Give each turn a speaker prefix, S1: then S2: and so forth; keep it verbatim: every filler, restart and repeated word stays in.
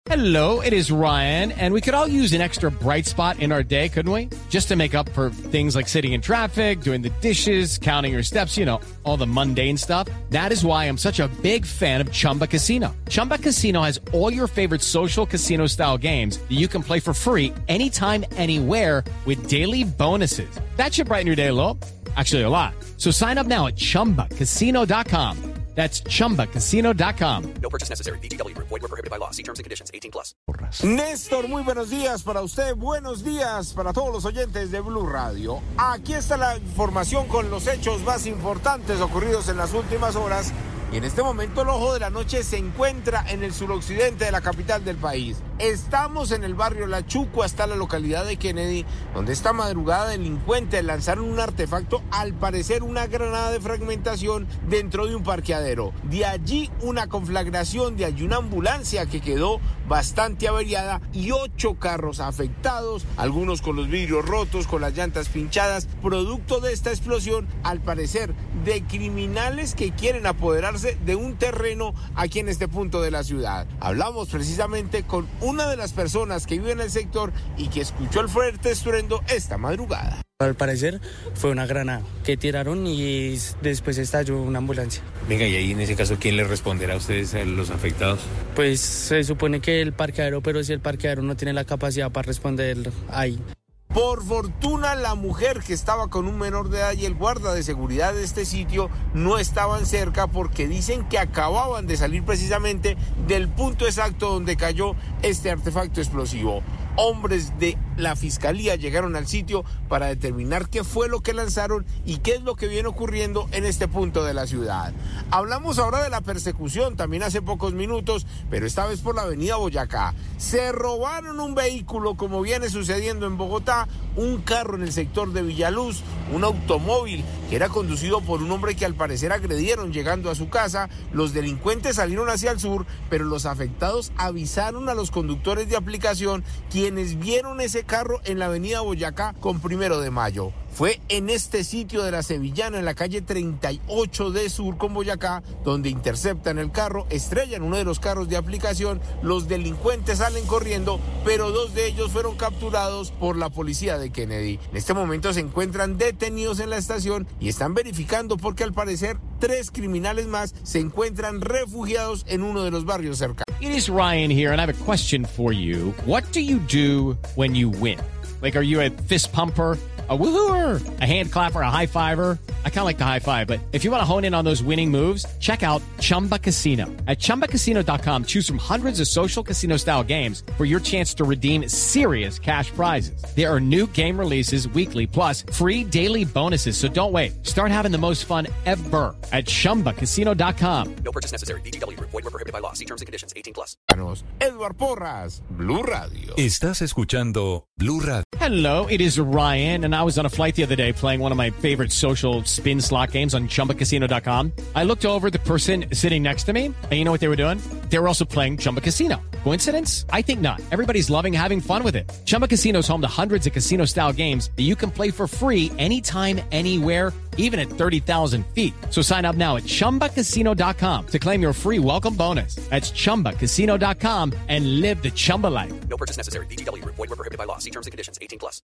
S1: Hello, it is Ryan, and we could all use an extra bright spot in our day, couldn't we? Just to make up for things like sitting in traffic, doing the dishes, counting your steps, you know, all the mundane stuff. That is why I'm such a big fan of Chumba Casino. Chumba Casino has all your favorite social casino-style games that you can play for free anytime, anywhere with daily bonuses. That should brighten your day a little. Actually, a lot. So sign up now at chumba casino dot com. That's chumba casino dot com.
S2: No purchase necessary. V G W Group. Void where prohibited by law. See terms and conditions. eighteen plus.
S3: Néstor, muy buenos días para usted. Buenos días para todos los oyentes de Blue Radio. Aquí está la información con los hechos más importantes ocurridos en las últimas horas. Y en este momento el ojo de la noche se encuentra en el suroccidente de la capital del país. Estamos en el barrio La Chucua, hasta la localidad de Kennedy, donde esta madrugada delincuentes lanzaron un artefacto, al parecer una granada de fragmentación, dentro de un parqueadero. De allí una conflagración, de allí una ambulancia que quedó bastante averiada y ocho carros afectados, algunos con los vidrios rotos, con las llantas pinchadas, producto de esta explosión, al parecer de criminales que quieren apoderarse de un terreno aquí en este punto de la ciudad. Hablamos precisamente con una de las personas que vive en el sector y que escuchó el fuerte estruendo esta madrugada.
S4: Al parecer fue una granada que tiraron y después estalló una ambulancia.
S5: Venga, y ahí en ese caso, ¿quién le responderá a ustedes, a los afectados?
S4: Pues se supone que el parqueadero, pero si el parqueadero no tiene la capacidad para responder ahí.
S3: Por fortuna, la mujer que estaba con un menor de edad y el guarda de seguridad de este sitio no estaban cerca, porque dicen que acababan de salir precisamente del punto exacto donde cayó este artefacto explosivo. Hombres de la fiscalía llegaron al sitio para determinar qué fue lo que lanzaron y qué es lo que viene ocurriendo en este punto de la ciudad. Hablamos ahora de la persecución, también hace pocos minutos, pero esta vez por la avenida Boyacá. Se robaron un vehículo, como viene sucediendo en Bogotá, un carro en el sector de Villaluz, un automóvil que era conducido por un hombre que al parecer agredieron llegando a su casa. Los delincuentes salieron hacia el sur, pero los afectados avisaron a los conductores de aplicación, quienes vieron ese carro en la avenida Boyacá con Primero de Mayo. Fue en este sitio de la Sevillana, en la calle treinta y ocho de Sur con Boyacá, donde interceptan el carro, estrellan uno de los carros de aplicación, los delincuentes salen corriendo, pero dos de ellos fueron capturados por la policía de Kennedy. En este momento se encuentran detenidos en la estación y están verificando, porque al parecer tres criminales más se encuentran refugiados en uno de los barrios cercanos.
S1: It is Ryan here, and I have a question for you. What do you do when you win? Like, are you a fist pumper, a woohooer, a hand clapper, a high fiver? I kind of like the high five, but if you want to hone in on those winning moves, check out Chumba Casino. At chumba casino dot com, choose from hundreds of social casino-style games for your chance to redeem serious cash prizes. There are new game releases weekly, plus free daily bonuses, so don't wait. Start having the most fun ever at chumba casino dot com.
S2: No purchase necessary. V G W Group. Void where prohibited by law. See terms and conditions. eighteen plus.
S3: Edward Porras, Blue Radio.
S6: Estás escuchando Blue Radio.
S1: Hello, it is Ryan, and I was on a flight the other day playing one of my favorite social spin slot games on chumba casino dot com. I looked over at the person sitting next to me, and you know what they were doing? They were also playing Chumba Casino. Coincidence? I think not. Everybody's loving having fun with it. Chumba Casino is home to hundreds of casino-style games that you can play for free anytime, anywhere, even at thirty thousand feet. So sign up now at chumba casino dot com to claim your free welcome bonus. That's chumba casino dot com and live the Chumba life.
S2: No purchase necessary. V G W Group. Void where prohibited by law. See terms and conditions. eighteen plus.